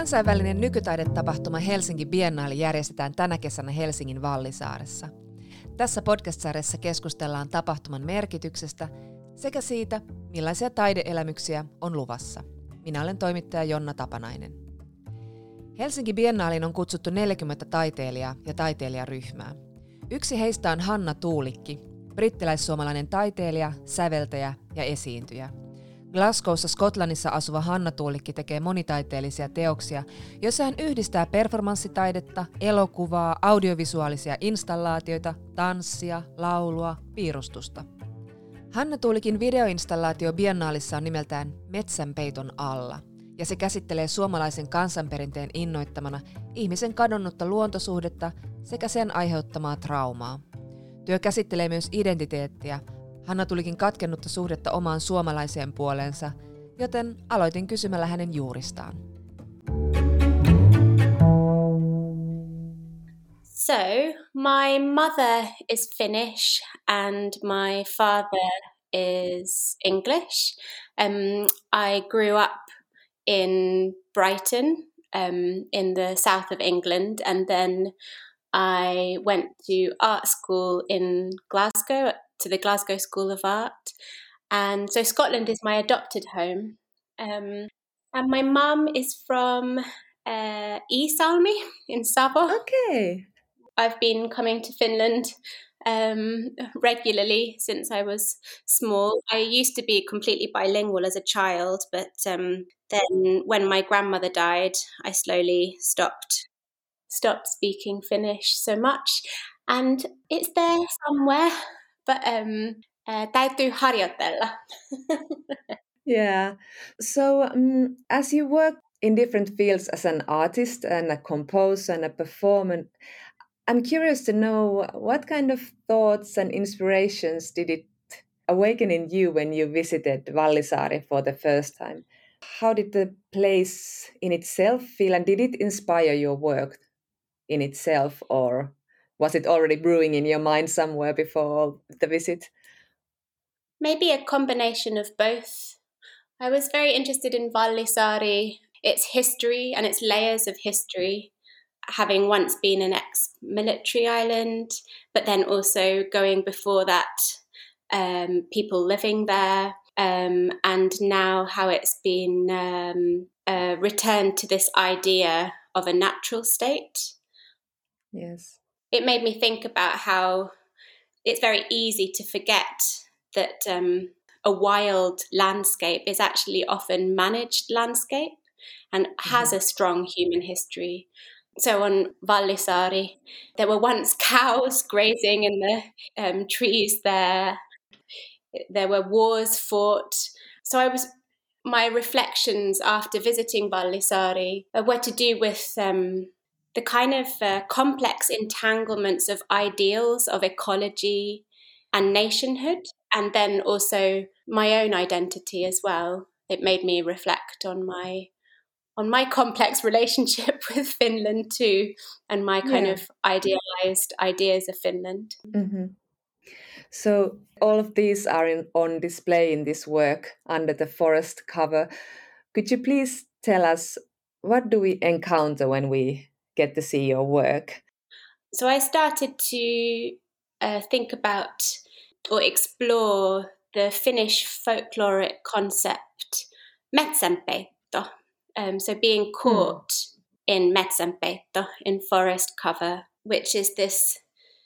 Kansainvälinen nykytaidetapahtuma Helsinki Biennaali järjestetään tänä kesänä Helsingin Vallisaaressa. Tässä podcast-sarjassa keskustellaan tapahtuman merkityksestä sekä siitä, millaisia taideelämyksiä on luvassa. Minä olen toimittaja Jonna Tapanainen. Helsinki Biennaaliin on kutsuttu 40 taiteilijaa ja taiteilijaryhmää. Yksi heistä on Hanna Tuulikki, brittiläis-suomalainen taiteilija, säveltäjä ja esiintyjä. Glasgowssa Skotlannissa asuva Hanna Tuulikki tekee monitaiteellisia teoksia, joissa hän yhdistää performanssitaidetta, elokuvaa, audiovisuaalisia installaatioita, tanssia, laulua, piirustusta. Hanna Tuulikin videoinstallaatio Biennaalissa on nimeltään Metsänpeiton alla, ja se käsittelee suomalaisen kansanperinteen innoittamana ihmisen kadonnutta luontosuhdetta sekä sen aiheuttamaa traumaa. Työ käsittelee myös identiteettiä, Hanna Tuulikin katkennutta suhdetta omaan suomalaiseen puoleensa, joten aloitin kysymällä hänen juuristaan. So, my mother is Finnish and my father is English. I grew up in Brighton, in the south of England, and then I went to art school in Glasgow, to the Glasgow School of Art. And so Scotland is my adopted home. And my mum is from Iisalmi in Savo. Okay. I've been coming to Finland regularly since I was small. I used to be completely bilingual as a child, but then when my grandmother died, I slowly stopped speaking Finnish so much. And it's there somewhere, but täytyy harjoitella. Yeah. So as you work in different fields as an artist and a composer and a performer, I'm curious to know what kind of thoughts and inspirations did it awaken in you when you visited Vallisaari for the first time? How did the place in itself feel, and did it inspire your work in itself, or was it already brewing in your mind somewhere before the visit? Maybe a combination of both. I was very interested in Vallisaari, its history and its layers of history, having once been an ex-military island, but then also going before that, people living there, and now how it's been returned to this idea of a natural state. Yes. It made me think about how it's very easy to forget that a wild landscape is actually often managed landscape and has a strong human history. So on Vallisaari, there were once cows grazing in the trees there. There were wars fought. So my reflections after visiting Vallisaari were to do with the kind of complex entanglements of ideals of ecology and nationhood, and then also my own identity as well. It made me reflect on my complex relationship with Finland too, and my kind of idealized ideas of Finland. Mm-hmm. So all of these are on display in this work under the forest cover. Could you please tell us, what do we encounter when we get to see your work? So I started to think about or explore the Finnish folkloric concept metsänpeitto. So being caught in metsänpeitto, in forest cover, which is this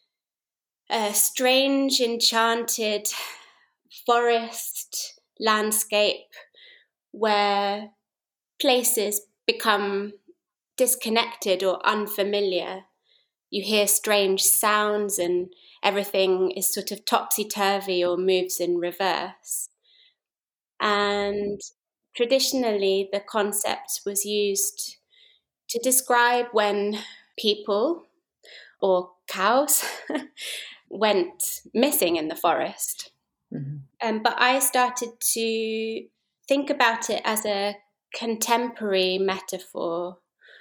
strange, enchanted forest landscape where places become disconnected or unfamiliar. You hear strange sounds and everything is sort of topsy-turvy or moves in reverse. And traditionally, the concept was used to describe when people or cows went missing in the forest. Mm-hmm. But I started to think about it as a contemporary metaphor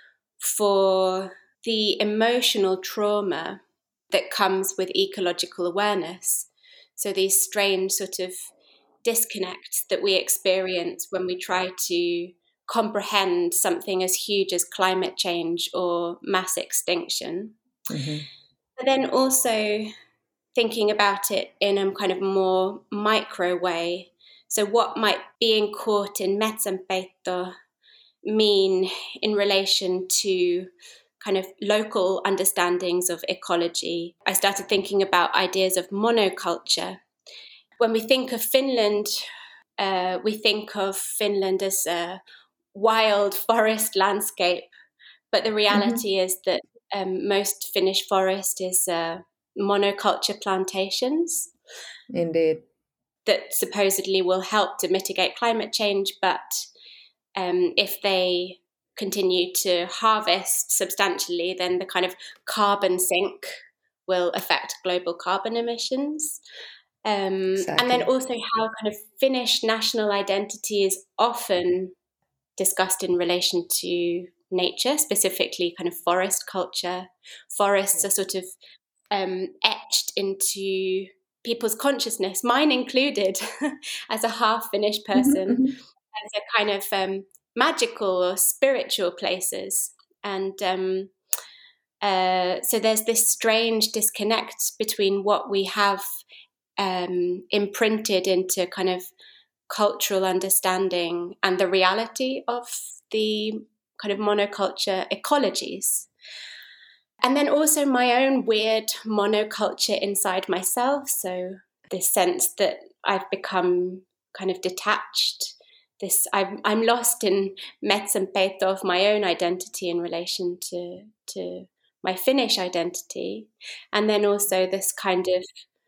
for the emotional trauma that comes with ecological awareness. So these strange sort of disconnects that we experience when we try to comprehend something as huge as climate change or mass extinction. Mm-hmm. But then also thinking about it in a kind of more micro way. So what might being caught in Metsänpeitto mean in relation to kind of local understandings of ecology? I started thinking about ideas of monoculture. When we think of Finland, we think of Finland as a wild forest landscape, but the reality is that most Finnish forest is monoculture plantations. Indeed. That supposedly will help to mitigate climate change, but if they continue to harvest substantially, then the kind of carbon sink will affect global carbon emissions. Exactly. And then also how kind of Finnish national identity is often discussed in relation to nature, specifically kind of forest culture. Forests are sort of etched into people's consciousness, mine included, as a half Finnish person, Mm-hmm. as a kind of magical or spiritual places. And so there's this strange disconnect between what we have imprinted into kind of cultural understanding and the reality of the kind of monoculture ecologies. And then also my own weird monoculture inside myself. So this sense that I've become kind of detached. I'm lost in Metsänpeitto of my own identity in relation to my Finnish identity. And then also this kind of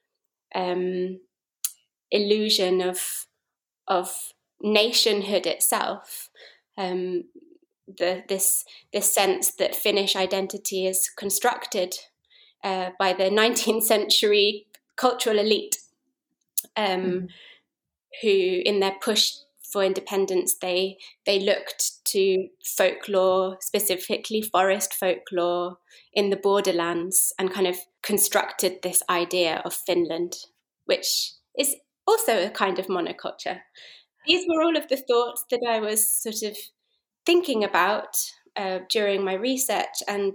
illusion of nationhood itself. This sense that Finnish identity is constructed by the 19th century cultural elite, who, in their push for independence, they looked to folklore, specifically forest folklore in the borderlands, and kind of constructed this idea of Finland, which is also a kind of monoculture. These were all of the thoughts that I was sort of thinking about during my research. And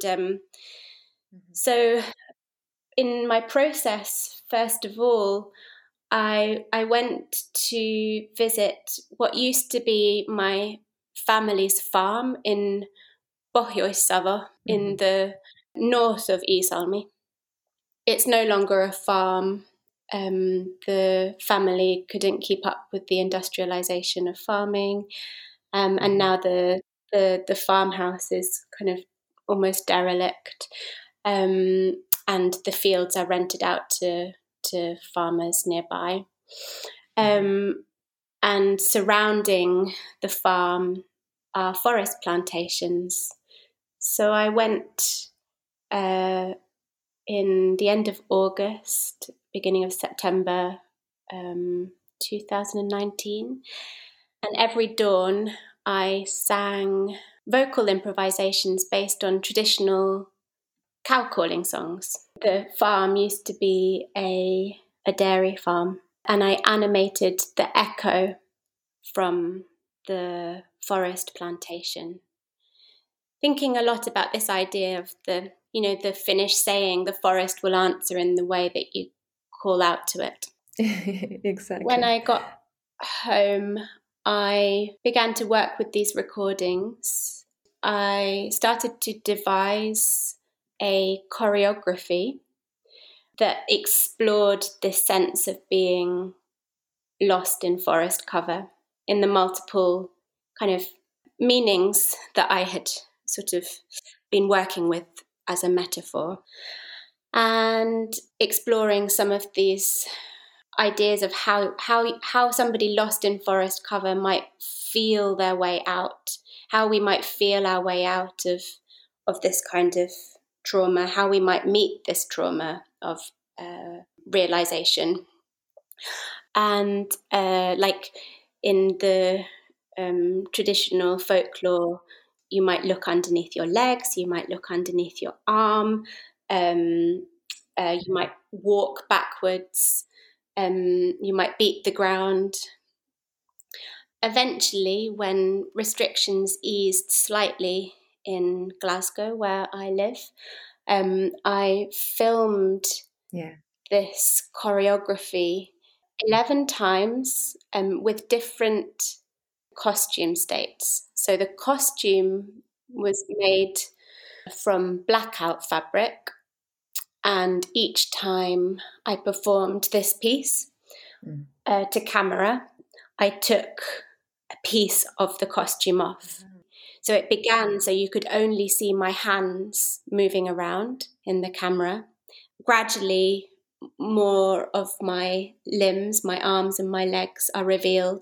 so in my process, first of all, I went to visit what used to be my family's farm in Pohjois-Savo, in the north of Iisalmi. It's no longer a farm. The family couldn't keep up with the industrialization of farming, and now the farmhouse is kind of almost derelict, and the fields are rented out to farmers nearby. And surrounding the farm are forest plantations. So I went in the end of August, beginning of September 2019. And every dawn I sang vocal improvisations based on traditional cow calling songs. The farm used to be a dairy farm, and I animated the echo from the forest plantation, thinking a lot about this idea of the Finnish saying, the forest will answer in the way that you call out to it. Exactly. When I got home, I began to work with these recordings. I started to devise a choreography that explored this sense of being lost in forest cover, in the multiple kind of meanings that I had sort of been working with as a metaphor, and exploring some of these ideas of how somebody lost in forest cover might feel their way out, how we might feel our way out of this kind of trauma, how we might meet this trauma of realization. And like in the traditional folklore, you might look underneath your legs, you might look underneath your arm, you might walk backwards, you might beat the ground. eventually, when restrictions eased slightly in Glasgow, where I live, I filmed this choreography 11 times with different costume states. So the costume was made from blackout fabric, and each time I performed this piece to camera, I took a piece of the costume off. So it began so you could only see my hands moving around in the camera. Gradually, more of my limbs, my arms and my legs are revealed,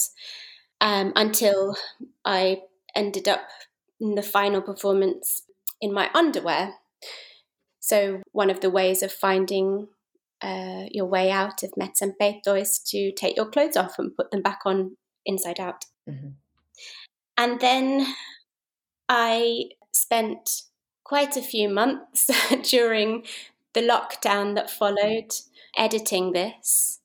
until I ended up in the final performance in my underwear. So one of the ways of finding your way out of Mezzo and Peito is to take your clothes off and put them back on inside out. Mm-hmm. And then I spent quite a few months during the lockdown that followed editing this,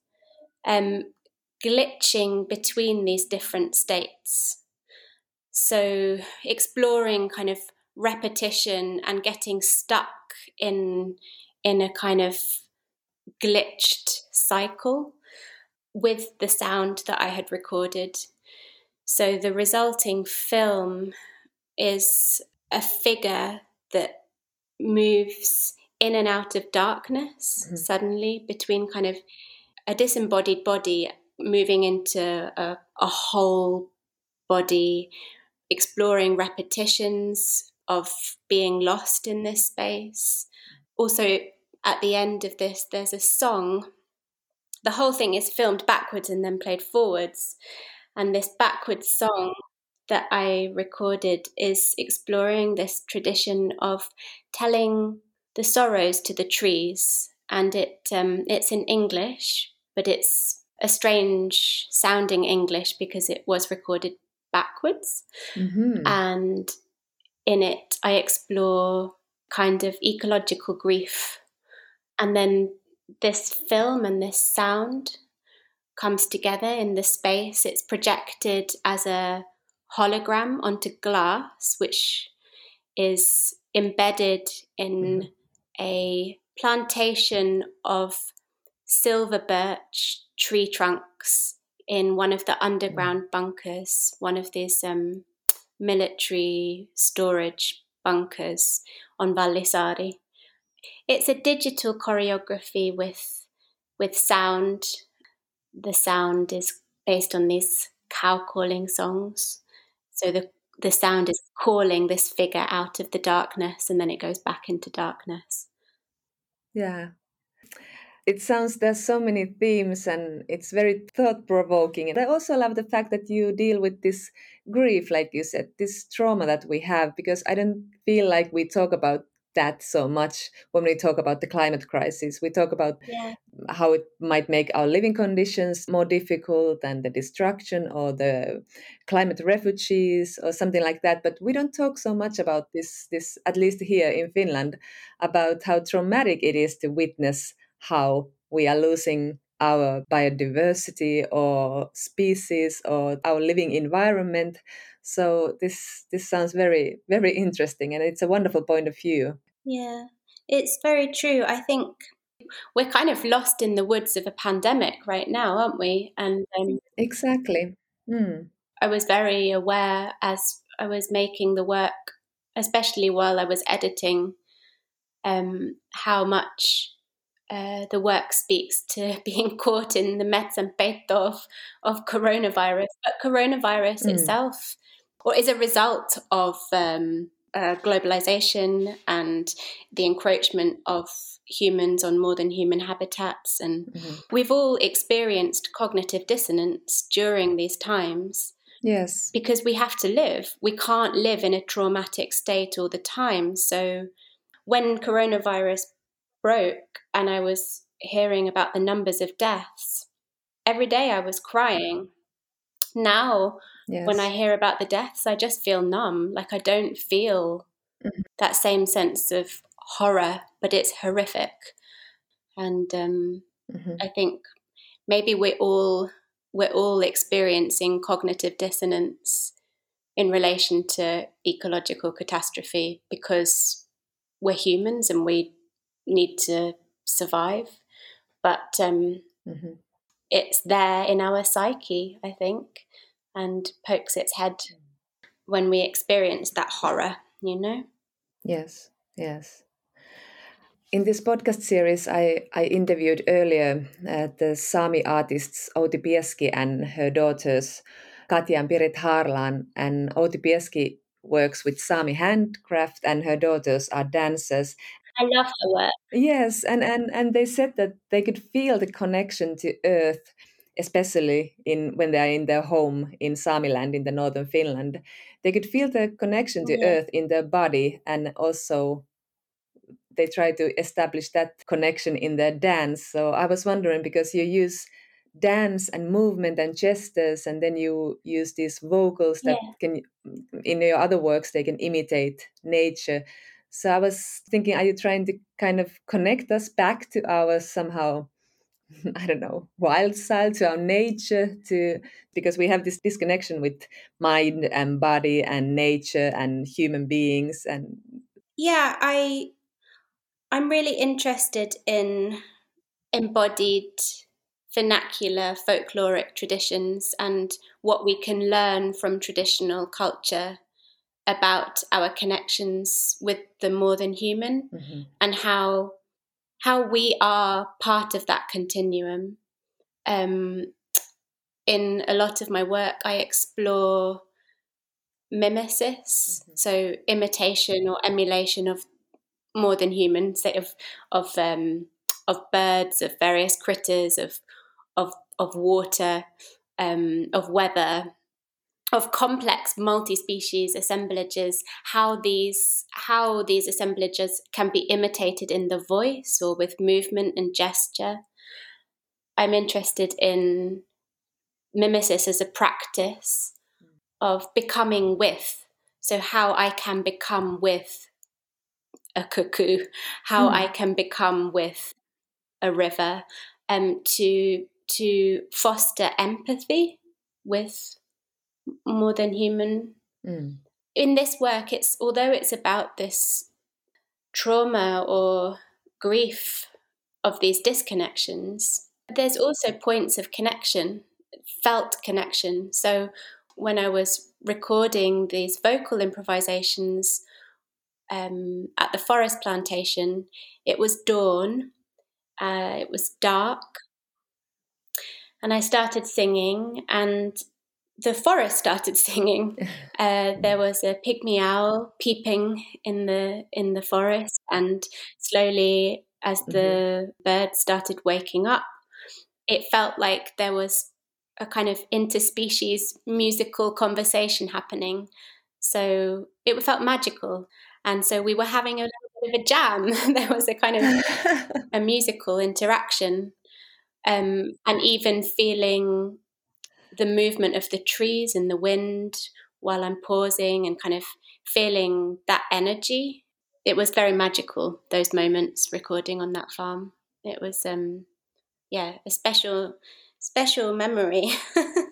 glitching between these different states. So exploring kind of repetition and getting stuck in a kind of glitched cycle with the sound that I had recorded. So the resulting film is a figure that moves in and out of darkness suddenly between kind of a disembodied body moving into a whole body, exploring repetitions of being lost in this space. Also, at the end of this, there's a song. The whole thing is filmed backwards and then played forwards. And this backwards song that I recorded is exploring this tradition of telling the sorrows to the trees. And it's in English, but it's a strange sounding English because it was recorded backwards. Mm-hmm. And in it, I explore kind of ecological grief. And then this film and this sound comes together in the space. It's projected as a hologram onto glass, which is embedded in a plantation of silver birch tree trunks in one of the underground bunkers, one of these military storage bunkers on Vallisari. It's a digital choreography with sound. The sound is based on these cow calling songs. So the sound is calling this figure out of the darkness, and then it goes back into darkness. Yeah. It sounds there's so many themes and it's very thought-provoking. And I also love the fact that you deal with this grief, like you said, this trauma that we have, because I don't feel like we talk about that so much when we talk about the climate crisis. We talk about how it might make our living conditions more difficult and the destruction or the climate refugees or something like that. But we don't talk so much about this, at least here in Finland, about how traumatic it is to witness how we are losing our biodiversity or species or our living environment. So this sounds very, very interesting, and it's a wonderful point of view. Yeah, it's very true. I think we're kind of lost in the woods of a pandemic right now, aren't we? And exactly. I was very aware as I was making the work, especially while I was editing, how much the work speaks to being caught in the Mezzo and Peito of coronavirus. But coronavirus itself is a result of globalization and the encroachment of humans on more than human habitats. And we've all experienced cognitive dissonance during these times. Yes. Because we have to live. We can't live in a traumatic state all the time. So when coronavirus broke and I was hearing about the numbers of deaths, every day I was crying. Now, when I hear about the deaths, I just feel numb. Like I don't feel that same sense of horror, but it's horrific. And I think maybe we're all we're all experiencing cognitive dissonance in relation to ecological catastrophe because we're humans and we need to survive. But it's there in our psyche, I think, and pokes its head when we experience that horror, you know? Yes, yes. In this podcast series, I interviewed earlier the Sami artists Outi Pieski and her daughters Katja and Pirit Harlan. And Outi Pieski works with Sami handcraft and her daughters are dancers. I love her work. Yes, and they said that they could feel the connection to earth, especially when they are in their home in Samiland in the northern Finland. They could feel the connection to earth in their body, and also they try to establish that connection in their dance. So I was wondering, because you use dance and movement and gestures, and then you use these vocals that can, in your other works, they can imitate nature. So I was thinking, are you trying to kind of connect us back to our somehow, I don't know, wild side, to our nature, because we have this disconnection with mind and body and nature and human beings? And yeah, I'm really interested in embodied vernacular folkloric traditions and what we can learn from traditional culture about our connections with the more than human, and how we are part of that continuum. In a lot of my work, I explore mimesis, so imitation or emulation of more than human, say of birds, of various critters, of water, of weather, of complex multi-species assemblages, how these assemblages can be imitated in the voice or with movement and gesture. I'm interested in mimesis as a practice of becoming with. So how I can become with a cuckoo, how I can become with a river, to foster empathy with more than human. In this work, although it's about this trauma or grief of these disconnections, there's also points of connection, felt connection. So when I was recording these vocal improvisations at the forest plantation, it was dawn, it was dark, and I started singing, and the forest started singing. There was a pygmy owl peeping in the forest, and slowly, as the birds started waking up, it felt like there was a kind of interspecies musical conversation happening. So it felt magical. And so we were having a little bit of a jam. There was a kind of a musical interaction, and even feeling the movement of the trees and the wind while I'm pausing and kind of feeling that energy. It was very magical, those moments recording on that farm. It was, a special memory.